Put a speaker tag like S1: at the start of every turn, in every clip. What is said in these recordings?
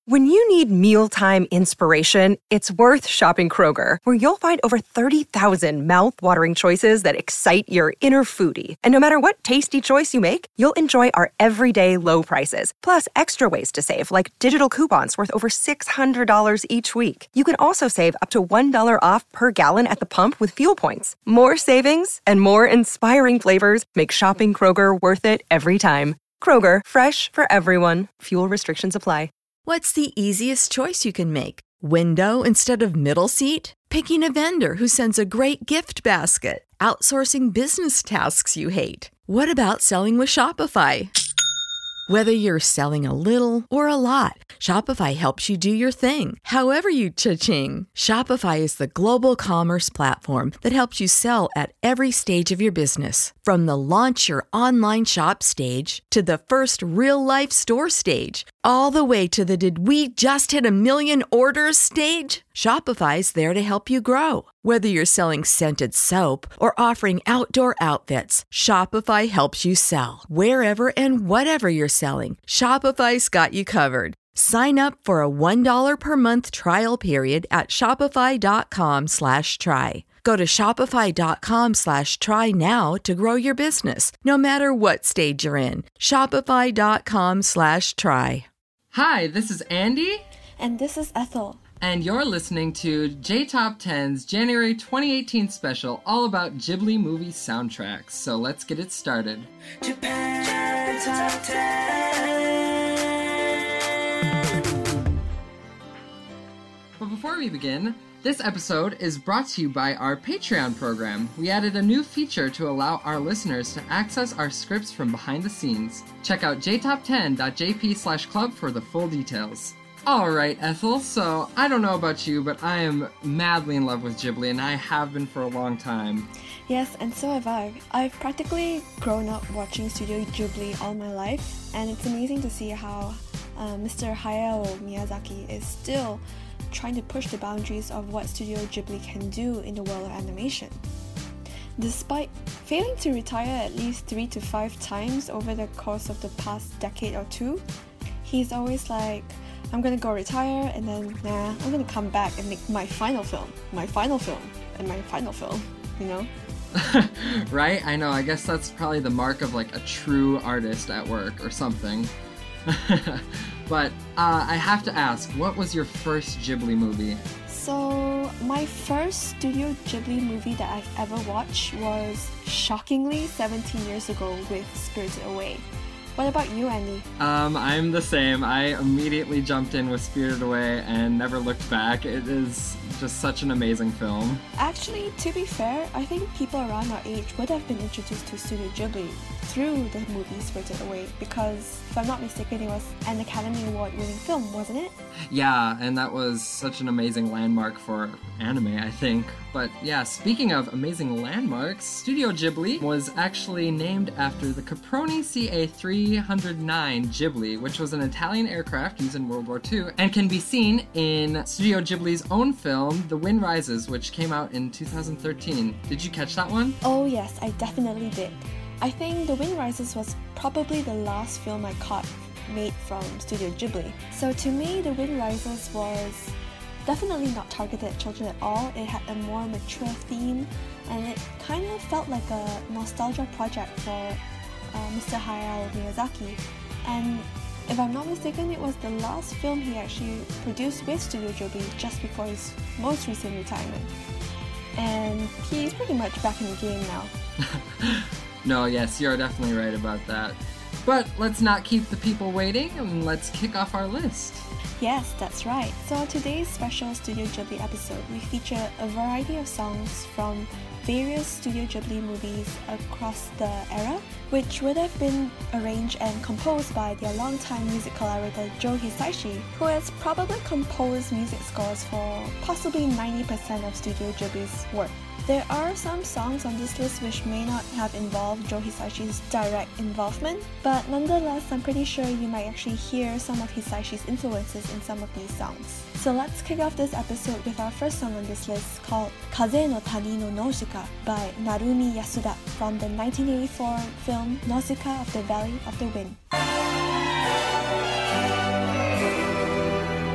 S1: When you need mealtime inspiration, it's worth shopping Kroger, where you'll find over 30,000 mouth-watering choices that excite your inner foodie. And no matter what tasty choice you make, you'll enjoy our everyday low prices, plus extra ways to save, like digital coupons worth over $600 each week. You can also save up to $1 off per gallon at the pump with fuel points. More savings and more inspiring flavors make shopping Kroger worth it every time. Kroger, fresh for everyone. Fuel restrictions apply.
S2: What's the easiest choice you can make? Window instead of middle seat? Picking a vendor who sends a great gift basket? Outsourcing business tasks you hate? What about selling with Shopify? Whether you're selling a little or a lot, Shopify helps you do your thing, however you cha-ching. Shopify is the global commerce platform that helps you sell at every stage of your business. From the launch your online shop stage to the first real-life store stage, all the way to the did we just hit 1 million orders stage. Shopify's there to help you grow. Whether you're selling scented soap or offering outdoor outfits, Shopify helps you sell. Wherever and whatever you're selling, Shopify's got you covered. Sign up for a $1 per month trial period at shopify.com/try. Go to shopify.com/try now to grow your business, no matter what stage you're in. Shopify.com/try.
S3: Hi, this is Andy.
S4: And this is Ethel.
S3: And you're listening to J-Top 10's January 2018 special all about Ghibli movie soundtracks. So let's get it started. Japan Top 10. But before we begin, this episode is brought to you by our Patreon program. We added a new feature to allow our listeners to access our scripts from behind the scenes. Check out jtop10.jp/club for the full details. Alright, Ethel, so I don't know about you, but I am madly in love with Ghibli, and I have been for a long time.
S4: Yes, and so have I. I've practically grown up watching Studio Ghibli all my life, and it's amazing to see how Mr. Hayao Miyazaki is still trying to push the boundaries of what Studio Ghibli can do in the world of animation. Despite failing to retire at least 3 to 5 times over the course of the past decade or two, he's always like, I'm gonna go retire, and then, I'm gonna come back and make my final film, and my final film, you know?
S3: Right? I know, I guess that's probably the mark of like a true artist at work or something. But I have to ask, what was your first Ghibli movie?
S4: So, my first Studio Ghibli movie that I've ever watched was, shockingly, 17 years ago with Spirited Away. What about you, Andy?
S3: I'm the same. I immediately jumped in with Spirited Away and never looked back. It is just such an amazing film.
S4: Actually, to be fair, I think people around our age would have been introduced to Studio Ghibli through the movie Spirited Away, because, if I'm not mistaken, it was an Academy Award-winning film, wasn't it?
S3: Yeah, and that was such an amazing landmark for anime, I think. But yeah, speaking of amazing landmarks, Studio Ghibli was actually named after the Caproni CA-309 Ghibli, which was an Italian aircraft used in World War II, and can be seen in Studio Ghibli's own film, The Wind Rises, which came out in 2013. Did you catch that one?
S4: Oh yes, I definitely did. I think The Wind Rises was probably the last film I caught made from Studio Ghibli. So to me, The Wind Rises was definitely not targeted at children at all. It had a more mature theme, and it kind of felt like a nostalgia project for Mr. Hayao Miyazaki. And if I'm not mistaken, it was the last film he actually produced with Studio Ghibli just before his most recent retirement. And he's pretty much back in the game now.
S3: No, yes, you're definitely right about that. But let's not keep the people waiting, and let's kick off our list.
S4: Yes, that's right. So on today's special Studio Ghibli episode, we feature a variety of songs from various Studio Ghibli movies across the era, which would have been arranged and composed by their longtime music collaborator Joe Hisaishi, who has probably composed music scores for possibly 90% of Studio Ghibli's work. There are some songs on this list which may not have involved Joe Hisaishi's direct involvement, but nonetheless, I'm pretty sure you might actually hear some of Hisaishi's influences in some of these songs. So let's kick off this episode with our first song on this list, called Kaze no Tani no Nausicaa by Narumi Yasuda from the 1984 film Nausicaa of the Valley of the Wind.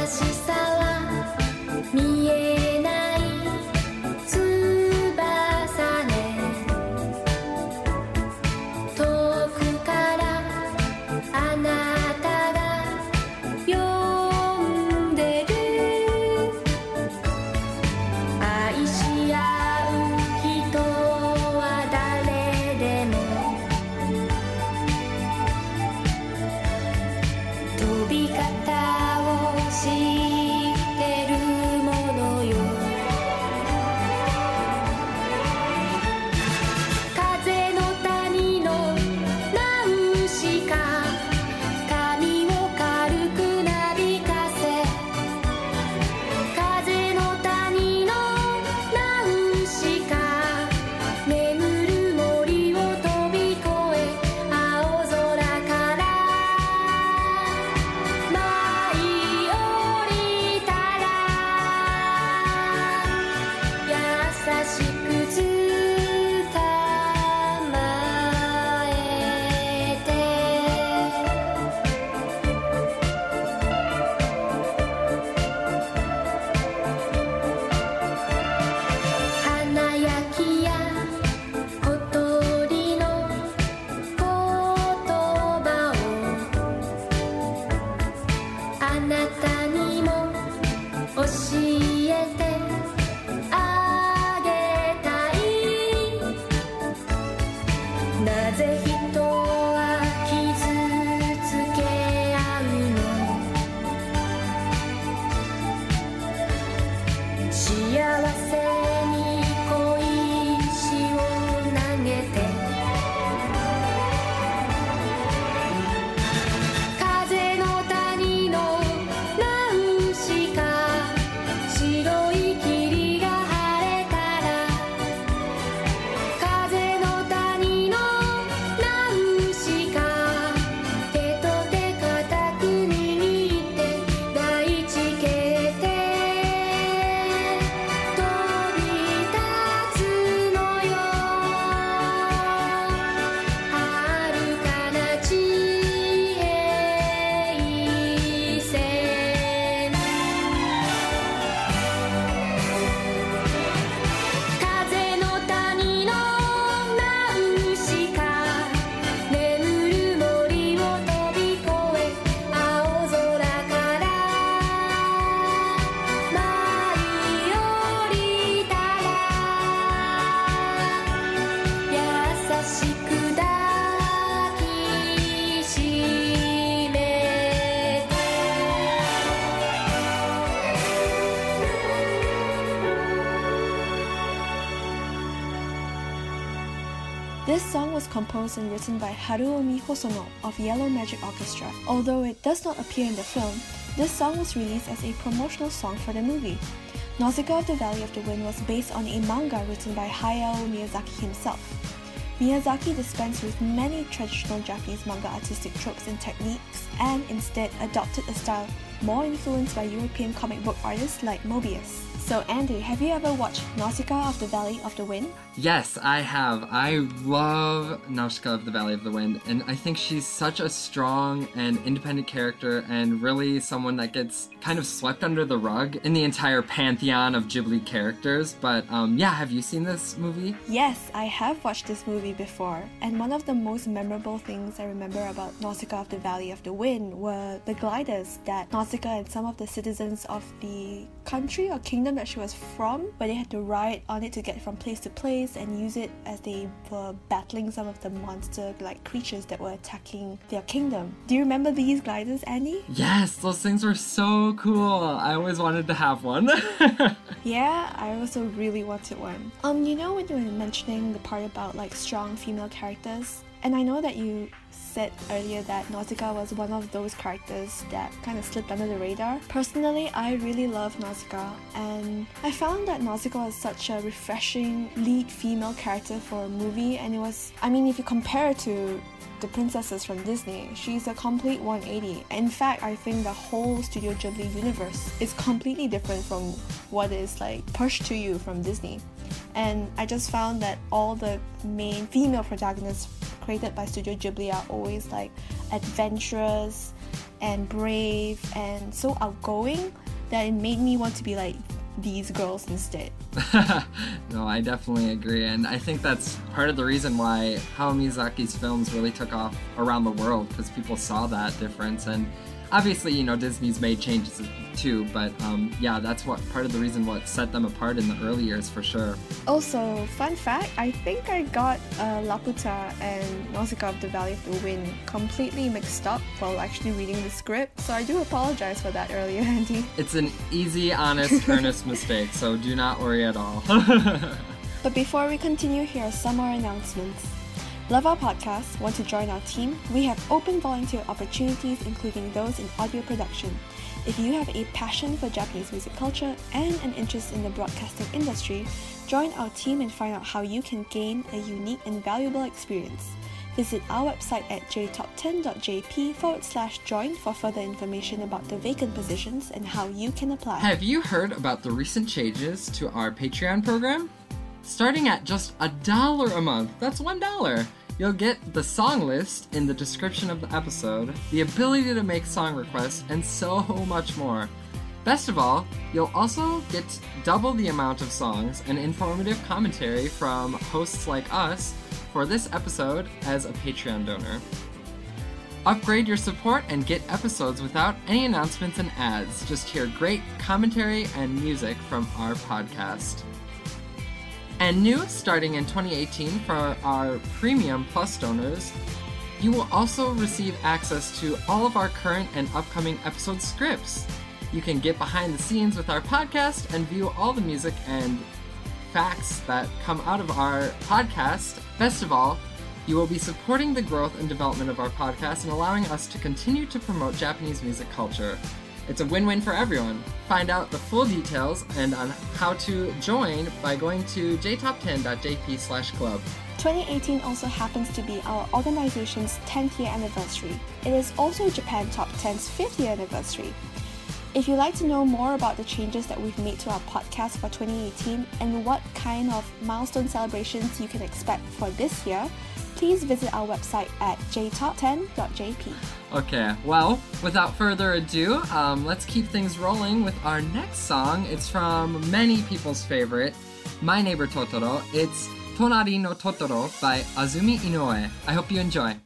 S5: しさは見えない翼ね遠くからあなたが呼んでる愛し合う人は誰でも飛び方を知ってるものよ風の谷のナウシカ髪を軽くなびかせ風の谷のナウシカ眠る森を飛び越え青空から舞い降りたら優しく捕まえて華やきや小鳥の言葉をあなたにも教えてあげたいなぜ人は傷つけ合うの幸せに小石を投げて風の谷のナウシカ白い霧が晴れたら風の谷のナウシカ手と手固く握って大地形で飛び立つのよ遥かな地平線風の谷のナウシカ眠る森を飛び越え青空から舞い降りたら優しく抱きしめて
S4: This song was composed and written by Haruomi Hosono of Yellow Magic Orchestra. Although it does not appear in the film, this song was released as a promotional song for the movie. Nausicaa of the Valley of the Wind was based on a manga written by Hayao Miyazaki himself. Miyazaki dispensed with many traditional Japanese manga artistic tropes and techniques and instead adopted a style more influenced by European comic book artists like Moebius. So Andy, have you ever watched Nausicaa of the Valley of the Wind?
S3: Yes, I have. I love Nausicaa of the Valley of the Wind, and I think she's such a strong and independent character and really someone that gets kind of swept under the rug in the entire pantheon of Ghibli characters. But yeah, have you seen this movie?
S4: Yes, I have watched this movie before, and one of the most memorable things I remember about Nausicaa of the Valley of the Wind were the gliders that Nausicaa and some of the citizens of the country or kingdom that she was from, where they had to ride on it to get from place to place and use it as they were battling some of the monster-like creatures that were attacking their kingdom. Do you remember these gliders, Andy?
S3: Yes, those things were so cool. I always wanted to have one.
S4: Yeah, I also really wanted one. You know when you were mentioning the part about like strong female characters, and I know that you said earlier that Nausicaa was one of those characters that kind of slipped under the radar. Personally, I really love Nausicaa, and I found that Nausicaa was such a refreshing lead female character for a movie, and it was, I mean, if you compare it to the princesses from Disney, she's a complete 180. In fact, I think the whole Studio Ghibli universe is completely different from what is like pushed to you from Disney. And I just found that all the main female protagonists created by Studio Ghibli are always like adventurous and brave and so outgoing that it made me want to be like these girls instead.
S3: No, I definitely agree, and I think that's part of the reason why Hayao Miyazaki's films really took off around the world, because people saw that difference. And obviously, you know, Disney's made changes too, but yeah, that's what part of the reason what set them apart in the early years for sure.
S4: Also, fun fact, I think I got Laputa and Nausicaa of the Valley of the Wind completely mixed up while actually reading the script, so I do apologize for that earlier, Andy.
S3: It's an easy, honest, earnest mistake, so do not worry at all.
S4: But before we continue, here are some more announcements. Love our podcast? Want to join our team? We have open volunteer opportunities, including those in audio production. If you have a passion for Japanese music culture and an interest in the broadcasting industry, join our team and find out how you can gain a unique and valuable experience. Visit our website at jtop10.jp/join for further information about the vacant positions and how you can apply.
S3: Have you heard about the recent changes to our Patreon program? Starting at just $1 a month, that's $1, you'll get the song list in the description of the episode, the ability to make song requests, and so much more. Best of all, you'll also get double the amount of songs and informative commentary from hosts like us for this episode as a Patreon donor. Upgrade your support and get episodes without any announcements and ads. Just hear great commentary and music from our podcast. And new, starting in 2018 for our Premium Plus donors, you will also receive access to all of our current and upcoming episode scripts. You can get behind the scenes with our podcast and view all the music and facts that come out of our podcast. Best of all, you will be supporting the growth and development of our podcast and allowing us to continue to promote Japanese music culture. It's a win-win for everyone. Find out the full details and on how to join by going to jtop10.jp/club.
S4: 2018 also happens to be our organization's 10th year anniversary. It is also Japan Top 10's 5th year anniversary. If you'd like to know more about the changes that we've made to our podcast for 2018 and what kind of milestone celebrations you can expect for this year, please visit our website at jtop10.jp.
S3: Okay, well, without further ado, let's keep things rolling with our next song. It's from many people's favorite, My Neighbor Totoro. It's Tonari no Totoro by Azumi Inoue. I hope you enjoy.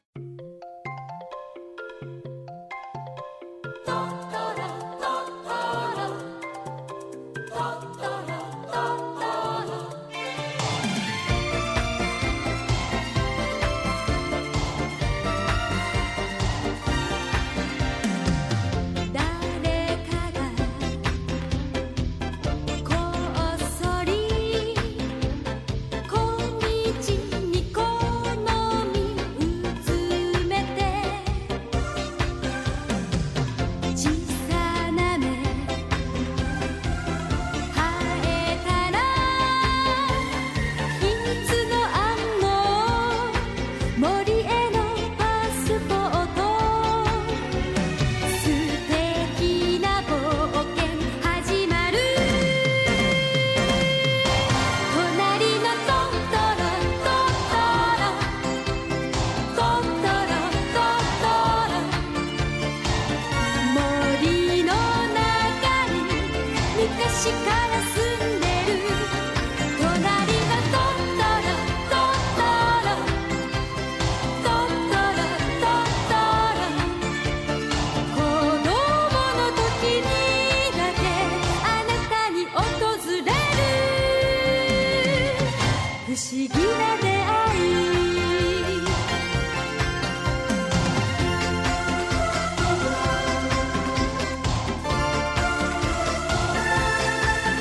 S5: 「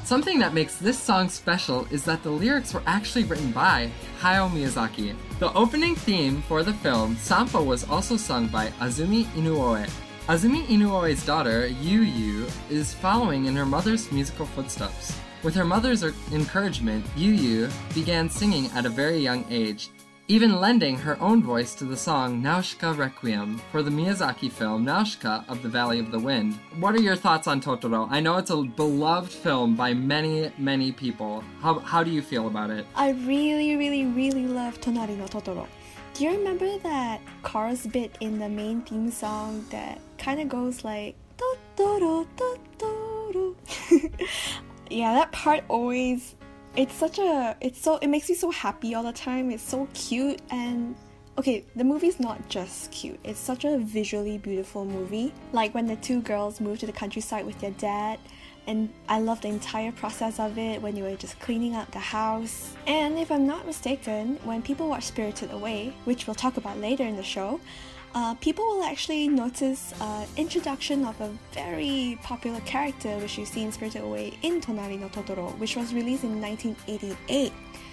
S3: Something that makes this song special is that the lyrics were actually written by Hayao Miyazaki. The opening theme for the film, Sampo, was also sung by Azumi Inoue. Azumi Inoue's daughter, Yu Yu, is following in her mother's musical footsteps. With her mother's encouragement, Yu Yu began singing at a very young age, even lending her own voice to the song Nausicaa Requiem for the Miyazaki film Nausicaa of the Valley of the Wind. What are your thoughts on Totoro? I know it's a beloved film by many, many people. How do you feel about it?
S4: I really, really, really love Tonari no Totoro. Do you remember that chorus bit in the main theme song that kind of goes like Totoro, Totoro? Yeah, that part always... it makes me so happy all the time. It's so cute, and okay, the movie's not just cute. It's such a visually beautiful movie. Like when the two girls move to the countryside with their dad, and I love the entire process of it when you were just cleaning out the house. And if I'm not mistaken, when people watch Spirited Away, which we'll talk about later in the show, people will actually notice introduction of a very popular character which you see in Spirited Away in Tonari no Totoro, which was released in 1988.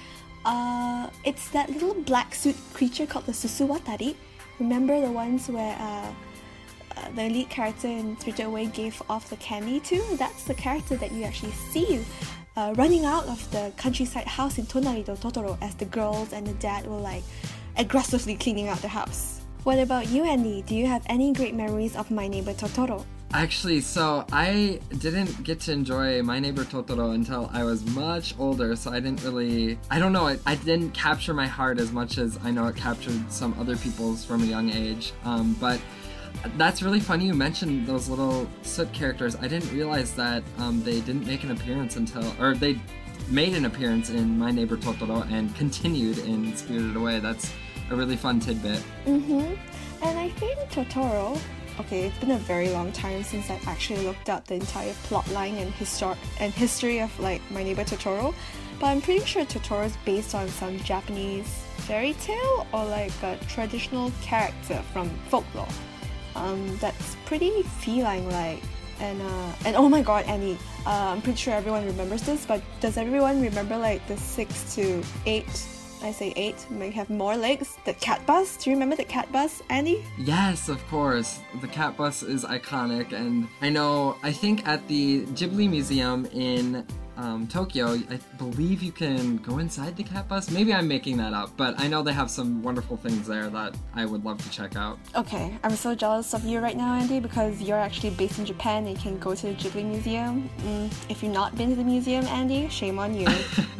S4: It's that little black suit creature called the Susuwatari. Remember the ones where the lead character in Spirited Away gave off the candy to? That's the character that you actually see running out of the countryside house in Tonari no Totoro as the girls and the dad were like aggressively cleaning out the house. What about you, Andy? Do you have any great memories of My Neighbor Totoro?
S3: Actually, so I didn't get to enjoy My Neighbor Totoro until I was much older, so I didn't really... I don't know, I didn't capture my heart as much as I know it captured some other people's from a young age. But that's really funny you mentioned those little soot characters. I didn't realize that they didn't make an appearance or they made an appearance in My Neighbor Totoro and continued in Spirited Away. That's a really fun tidbit.
S4: And I think Totoro, okay, it's been a very long time since I've actually looked up the entire plotline and history of like My Neighbor Totoro, but I'm pretty sure Totoro is based on some Japanese fairy tale or like a traditional character from folklore. That's pretty feline-like. And oh my god, Annie, I'm pretty sure everyone remembers this, but does everyone remember like the 6 to 8? I say 8, may have more legs. The cat bus. Do you remember the cat bus, Andy?
S3: Yes, of course. The cat bus is iconic, and I think at the Ghibli Museum in Tokyo, I believe you can go inside the cat bus. Maybe I'm making that up, but I know they have some wonderful things there that I would love to check out.
S4: Okay, I'm so jealous of you right now, Andy, because you're actually based in Japan and you can go to the Ghibli Museum. If you've not been to the museum, Andy, shame on you.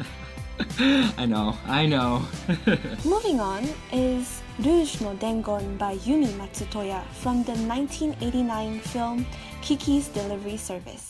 S3: I know.
S4: Moving on is Rouge no Dengon by Yumi Matsutoya from the 1989 film Kiki's Delivery Service.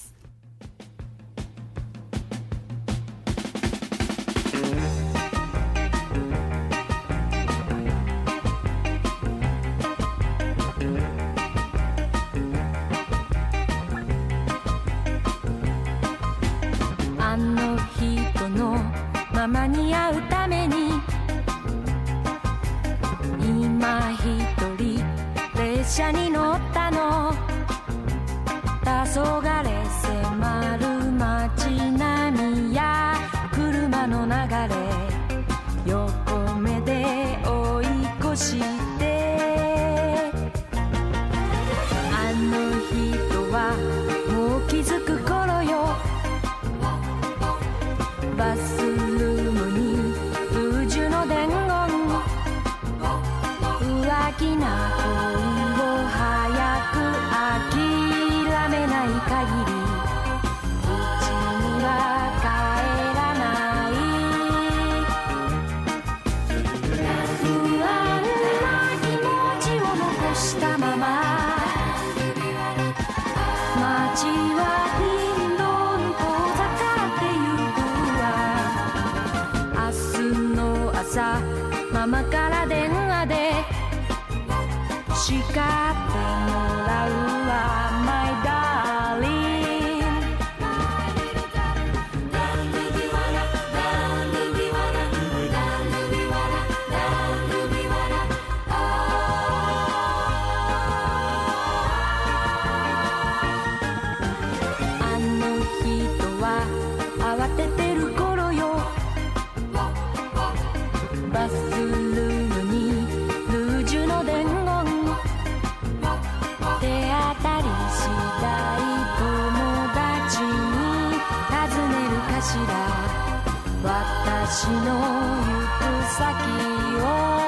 S5: しら私の行く先を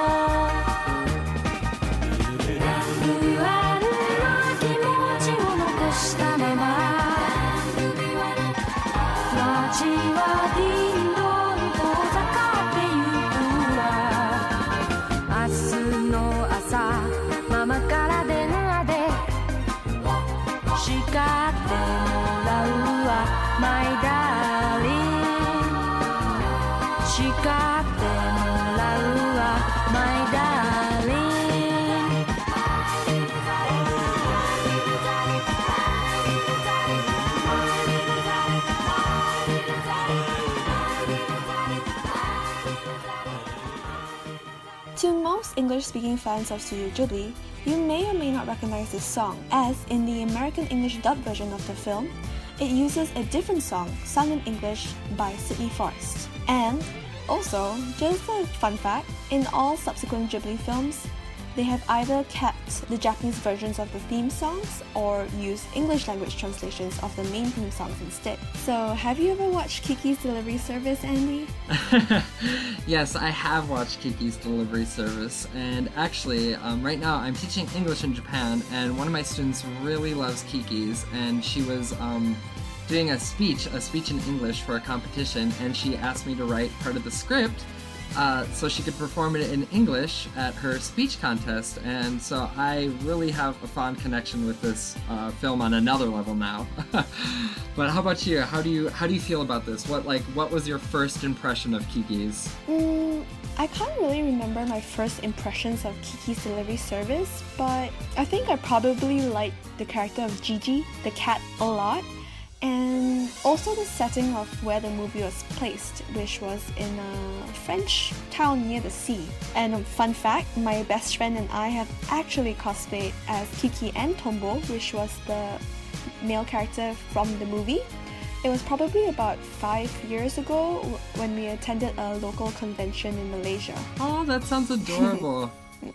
S5: 不安な気持ちを残したまま街はディンドン遠ざかってゆくわ明日の朝ママから電話で叱ってもらうわ My darling 叱ってもらうわ My darling
S4: To most English-speaking fans of Studio Ghibli, you may or may not recognize this song, as in the American English dub version of the film, it uses a different song sung in English by Sidney Forrest. And also, just a fun fact, in all subsequent Ghibli films, they have either kept the Japanese versions of the theme songs or used English language translations of the main theme songs instead. So, have you ever watched Kiki's Delivery Service, Andy?
S3: Yes, I have watched Kiki's Delivery Service, and actually, right now I'm teaching English in Japan, and one of my students really loves Kiki's, and she was doing a speech in English for a competition, and she asked me to write part of the script so she could perform it in English at her speech contest, and so I really have a fond connection with this film on another level now. But how about you? How do you feel about this? What was your first impression of Kiki's?
S4: I can't really remember my first impressions of Kiki's Delivery Service, but I think I probably liked the character of Gigi, the cat, a lot. And also the setting of where the movie was placed, which was in a French town near the sea. And a fun fact, my best friend and I have actually cosplayed as Kiki and Tombo, which was the male character from the movie. It was probably about 5 years ago when we attended a local convention in Malaysia.
S3: Oh, that sounds adorable.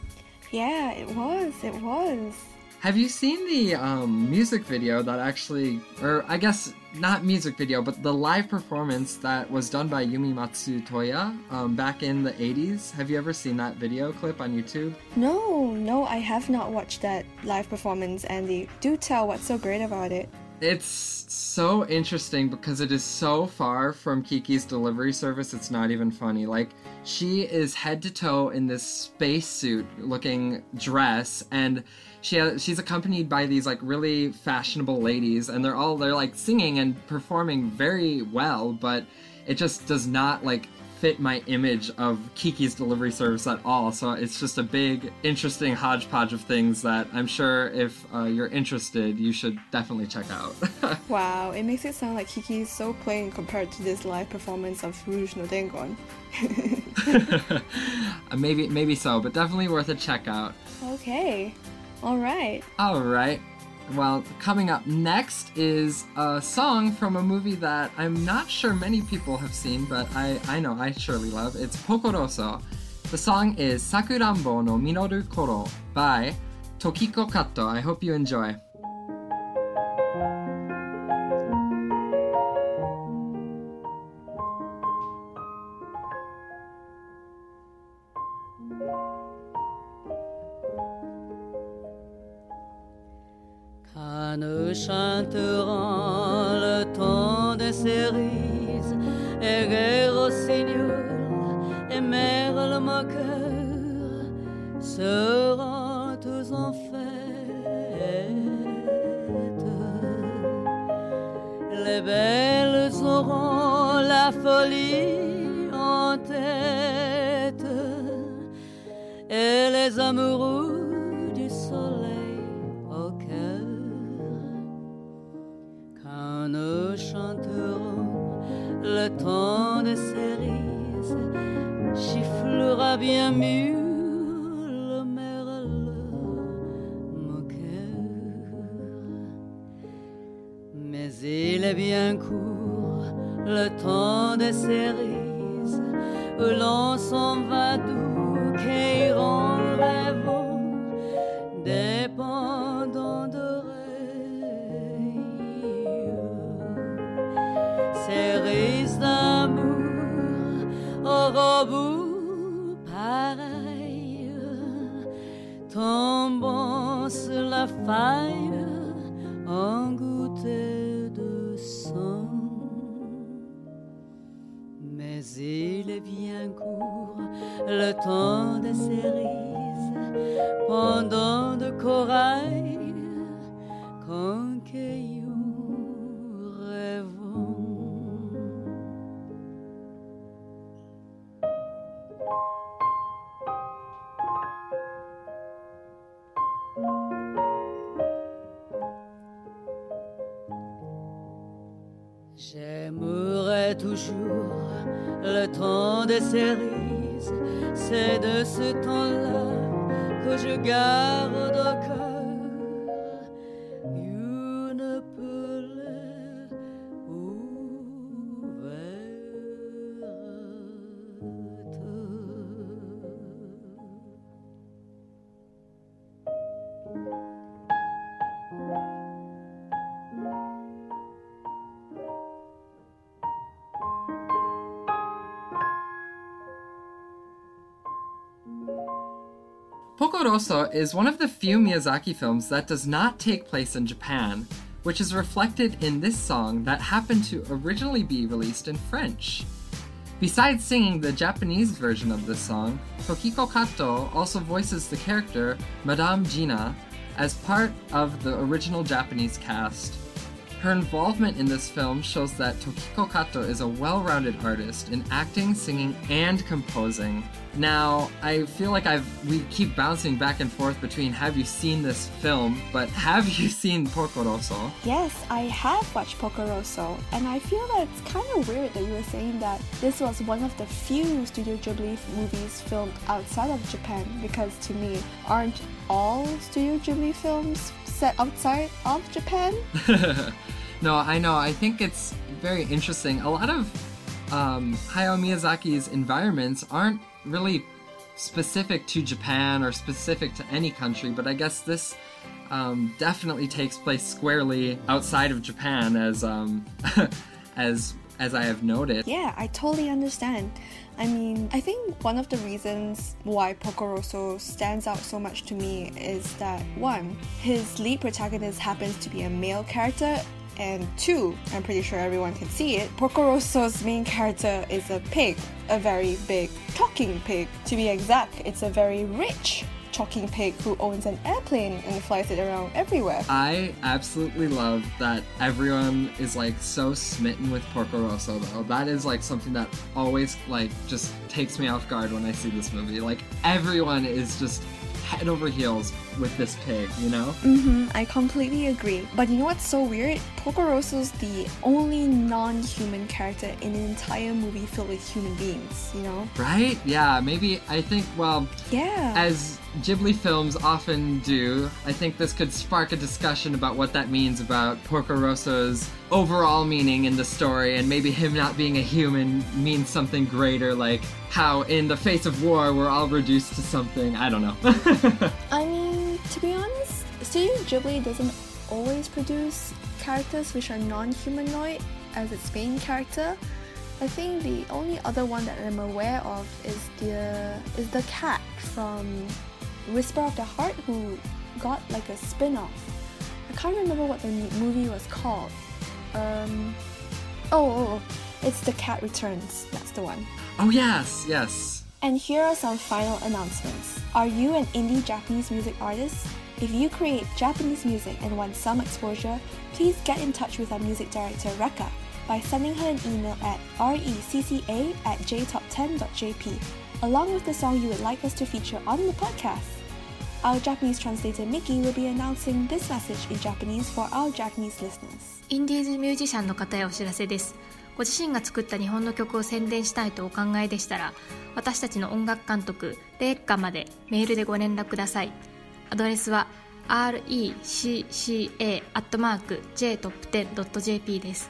S4: Yeah, it was.
S3: Have you seen the music video that actually, or I guess not music video, but the live performance that was done by Yumi Matsutoya back in the 80s? Have you ever seen that video clip on YouTube?
S4: No, I have not watched that live performance, Andy. Do tell what's so great about it.
S3: It's so interesting because it is so far from Kiki's Delivery Service, it's not even funny. Like, she is head to toe in this spacesuit looking dress, and she's accompanied by these like really fashionable ladies, and they're like singing and performing very well, but it just does not like fit my image of Kiki's Delivery Service at all. So it's just a big, interesting hodgepodge of things that I'm sure if you're interested, you should definitely check out.
S4: Wow, it makes it sound like Kiki is so plain compared to this live performance of Rouge no Dengon.
S3: Maybe so, but definitely worth a check out.
S4: Okay, alright.
S3: Well, coming up next is a song from a movie that I'm not sure many people have seen, but I know I surely love. It's Pokoroso. The song is Sakuranbo no Minoru Koro by Tokiko Kato. I hope you enjoy.
S6: 'Quand nous chanterons le temps des cerises et gai rossignol et merle le moqueur seront tous en fête. Les belles auront la folie en tête et les amoureux du soleil au cœur. Quand nous chanterons le temps des cerises, chifflera bien mieux le merle moqueur. Mais il est bien court le temps des cerises où l'on s'en va doux, qu'iront rêvant dépendant d'oreilles. Cerises faille en gouttes de sang. Mais il est bien court le temps des cerises, pendant de corail qu'en cailloux rêvons. J'aimerais toujours le temps des cerises, c'est de ce temps-là que je garde au cœur une plaie ouverte.
S3: Porco Rosso is one of the few Miyazaki films that does not take place in Japan, which is reflected in this song that happened to originally be released in French. Besides singing the Japanese version of this song, Tokiko Kato also voices the character Madame Gina as part of the original Japanese cast. Her involvement in this film shows that Tokiko Kato is a well-rounded artist in acting, singing, and composing. Now, I feel like we keep bouncing back and forth between have you seen this film, but have you seen Porco Rosso?
S4: Yes, I have watched Porco Rosso, and I feel that it's kind of weird that you were saying that this was one of the few Studio Ghibli movies filmed outside of Japan, because to me, aren't all Studio Ghibli films set outside of Japan?
S3: No, I know. I think it's very interesting. A lot of Hayao Miyazaki's environments aren't really specific to Japan or specific to any country, but I guess this definitely takes place squarely outside of Japan, as I have noted.
S4: Yeah, I totally understand. I mean, I think one of the reasons why Porco Rosso stands out so much to me is that, one, his lead protagonist happens to be a male character, and two, I'm pretty sure everyone can see it, Porco Rosso's main character is a pig, a very big talking pig. To be exact, it's a very rich talking pig who owns an airplane and flies it around everywhere.
S3: I absolutely love that everyone is like so smitten with Porco Rosso though. That is like something that always like just takes me off guard when I see this movie. Like everyone is just head over heels with this pig, you know?
S4: I completely agree. But you know what's so weird? Porco Rosso's the only non-human character in an entire movie filled with human beings, you know?
S3: Right? Yeah, maybe, I think, well,
S4: yeah,
S3: as Ghibli films often do, I think this could spark a discussion about what that means about Porco Rosso's overall meaning in the story, and maybe him not being a human means something greater, like how in the face of war we're all reduced to something, I don't know.
S4: I mean, to be honest, Studio Ghibli doesn't always produce characters which are non-humanoid as its main character. I think the only other one that I'm aware of is the cat from Whisper of the Heart, who got like a spin-off. I can't remember what the movie was called. It's The Cat Returns. That's the one.
S3: Oh yes, yes.
S4: And here are some final announcements. Are you an indie Japanese music artist? If you create Japanese music and want some exposure, please get in touch with our music director Reka by sending her an email at recca@jtop10.jp, along with the song you would like us to feature on the podcast. Our Japanese translator Miki will be announcing this message in Japanese for our Japanese listeners.
S7: インディーズミュージシャンの方へお知らせです。ご自身が作った日本の曲を宣伝したいとお考えでしたら、私たちの音楽監督レッカまでメールでご連絡ください。アドレスは recca@jtop10.jp です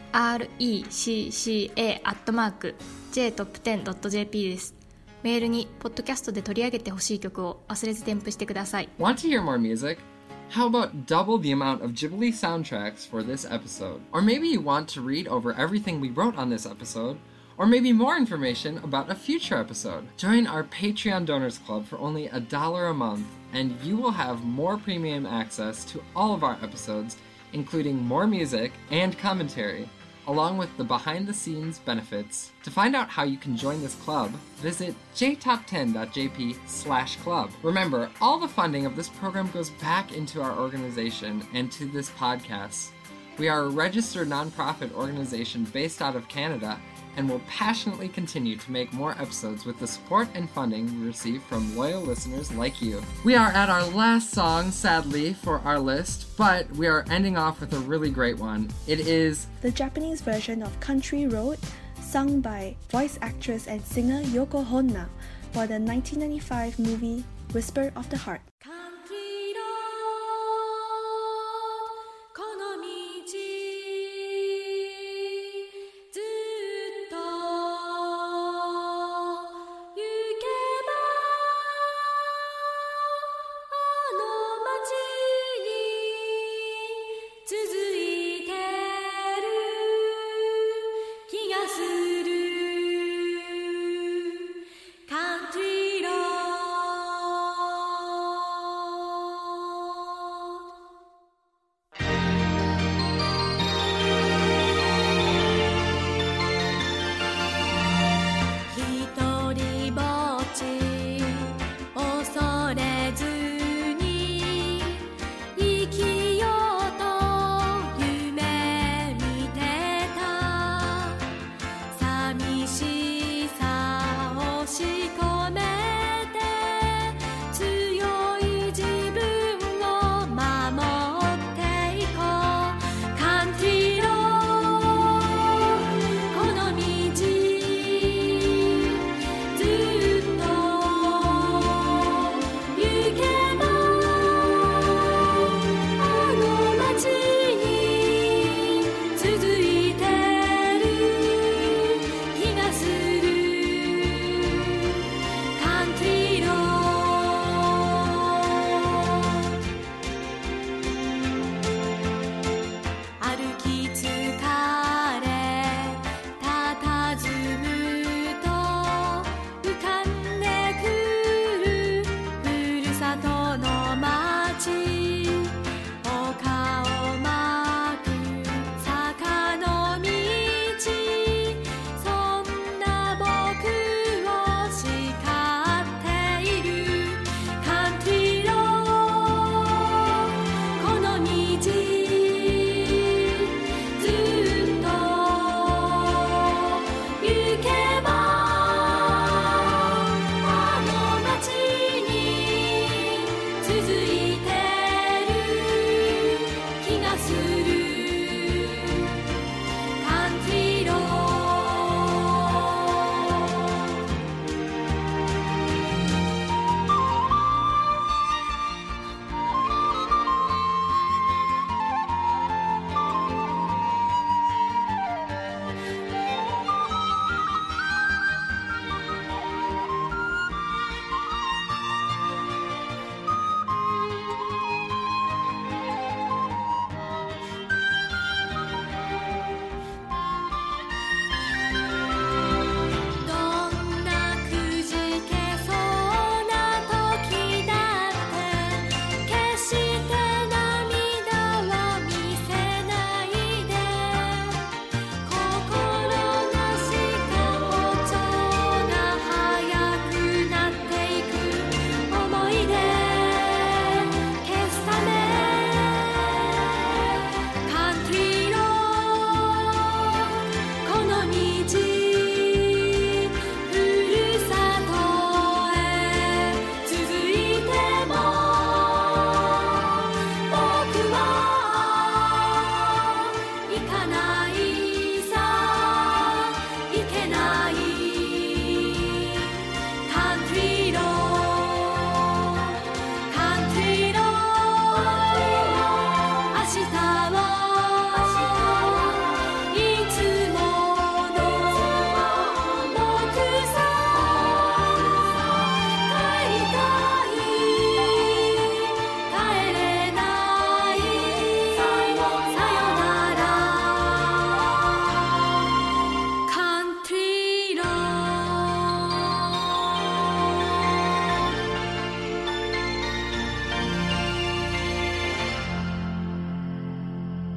S7: 。recca@jtop10.jp です。メールにポッドキャストで取り上げてほしい曲を忘れず添付してください。
S3: Want to hear more music? How about double the amount of Ghibli soundtracks for this episode? Or maybe you want to read over everything we wrote on this episode, or maybe more information about a future episode. Join our Patreon Donors Club for only $1 a month and you will have more premium access to all of our episodes, including more music and commentary, along with the behind-the-scenes benefits. To find out how you can join this club, visit jtop10.jp/club. Remember, all the funding of this program goes back into our organization and to this podcast. We are a registered nonprofit organization based out of Canada and will passionately continue to make more episodes with the support and funding we receive from loyal listeners like you. We are at our last song, sadly, for our list, but we are ending off with a really great one. It is
S4: the Japanese version of Country Road, sung by voice actress and singer Yoko Honda for the 1995 movie Whisper of the Heart.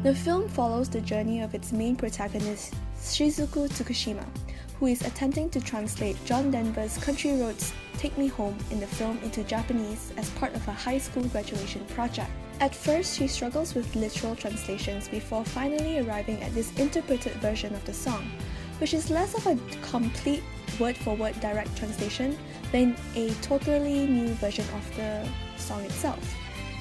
S4: The film follows the journey of its main protagonist, Shizuku Tsukushima, who is attempting to translate John Denver's Country Roads Take Me Home in the film into Japanese as part of a high school graduation project. At first, she struggles with literal translations before finally arriving at this interpreted version of the song, which is less of a complete word-for-word direct translation than a totally new version of the song itself.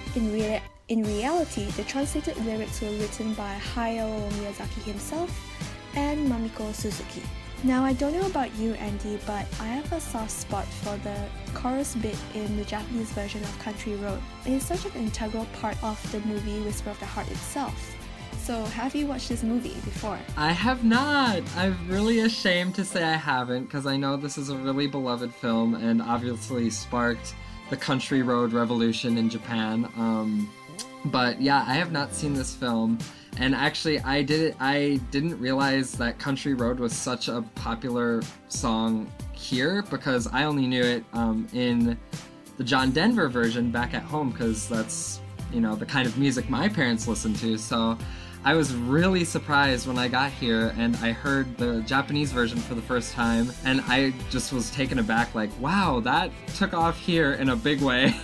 S4: In reality, the translated lyrics were written by Hayao Miyazaki himself and Mamiko Suzuki. Now, I don't know about you, Andy, but I have a soft spot for the chorus bit in the Japanese version of Country Road. It is such an integral part of the movie Whisper of the Heart itself. So, have you watched this movie before?
S3: I have not. I'm really ashamed to say I haven't, because I know this is a really beloved film and obviously sparked the Country Road revolution in Japan. But yeah, I have not seen this film. And actually, I didn't realize that Country Road was such a popular song here, because I only knew it in the John Denver version back at home, because that's, the kind of music my parents listened to. So I was really surprised when I got here and I heard the Japanese version for the first time, and I just was taken aback, like, wow, that took off here in a big way.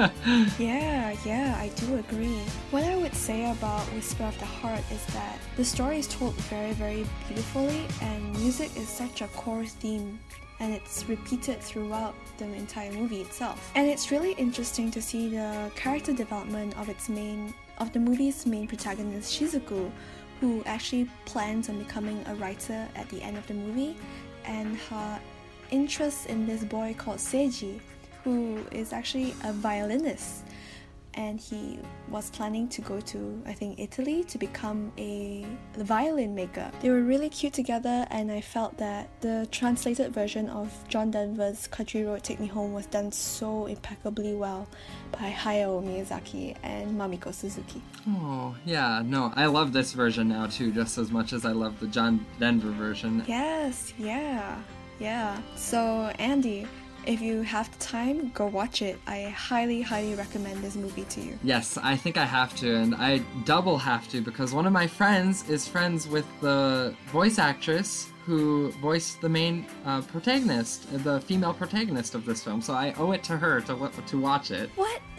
S4: Yeah, I do agree. What I would say about Whisper of the Heart is that the story is told very, very beautifully, and music is such a core theme, and it's repeated throughout the entire movie itself. And it's really interesting to see the character development of the movie's main protagonist, Shizuku, who actually plans on becoming a writer at the end of the movie, and her interest in this boy called Seiji, who is actually a violinist, and he was planning to go to, I think, Italy to become a violin maker. They were really cute together, and I felt that the translated version of John Denver's Country Road Take Me Home was done so impeccably well by Hayao Miyazaki and Mamiko Suzuki.
S3: Oh, yeah, no, I love this version now too, just as much as I love the John Denver version.
S4: Yes, yeah. So, Andy, if you have the time, go watch it. I highly, highly recommend this movie to you.
S3: Yes, I think I have to, and I double have to, because one of my friends is friends with the voice actress who voiced the main protagonist, the female protagonist of this film, so I owe it to her to watch it.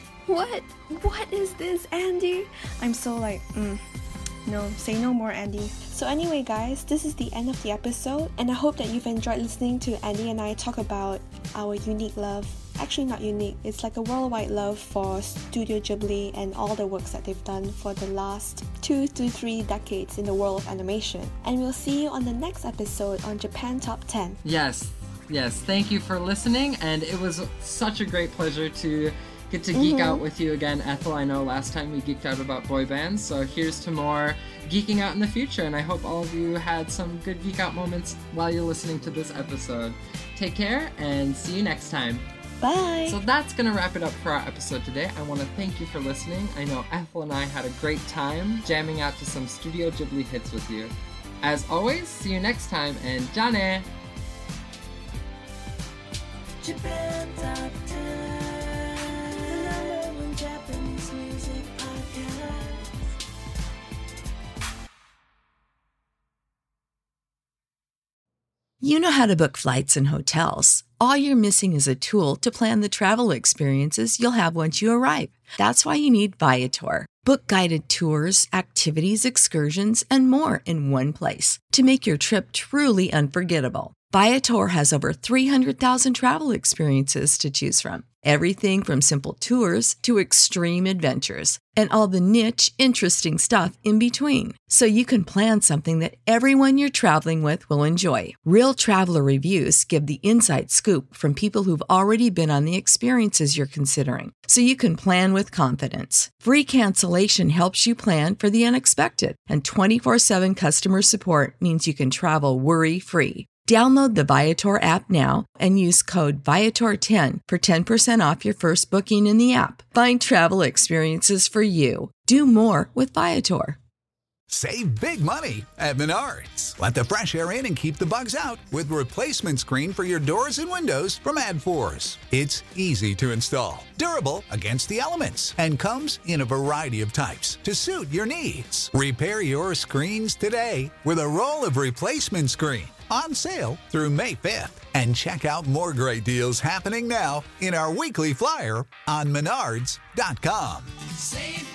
S4: What is this, Andy? I'm so like, no, say no more, Andy. So anyway, guys, this is the end of the episode, and I hope that you've enjoyed listening to Andy and I talk about our unique love. Actually, not unique, it's like a worldwide love for Studio Ghibli and all the works that they've done for the last 2 to 3 decades in the world of animation. And we'll see you on the next episode on Japan Top 10.
S3: Yes, thank you for listening, and it was such a great pleasure to get to geek out with you again, Ethel. I know last time we geeked out about boy bands, so here's to more geeking out in the future, and I hope all of you had some good geek out moments while you're listening to this episode. Take care, and see you next time.
S4: Bye!
S3: So that's going to wrap it up for our episode today. I want to thank you for listening. I know Ethel and I had a great time jamming out to some Studio Ghibli hits with you. As always, see you next time, and Jane!
S5: Japan Top 10, the #1 Japanese music podcast.
S2: You know how to book flights and hotels. All you're missing is a tool to plan the travel experiences you'll have once you arrive. That's why you need Viator. Book guided tours, activities, excursions, and more in one place to make your trip truly unforgettable. Viator has over 300,000 travel experiences to choose from. Everything from simple tours to extreme adventures and all the niche, interesting stuff in between. So you can plan something that everyone you're traveling with will enjoy. Real traveler reviews give the inside scoop from people who've already been on the experiences you're considering. So you can plan with confidence. Free cancellation helps you plan for the unexpected. And 24/7 customer support means you can travel worry-free. Download the Viator app now and use code Viator10 for 10% off your first booking in the app. Find travel experiences for you. Do more with Viator.
S8: Save big money at Menards. Let the fresh air in and keep the bugs out with replacement screen for your doors and windows from Adforce. It's easy to install, durable against the elements, and comes in a variety of types to suit your needs. Repair your screens today with a roll of replacement screen on sale through May 5th. And check out more great deals happening now in our weekly flyer on Menards.com.
S9: Save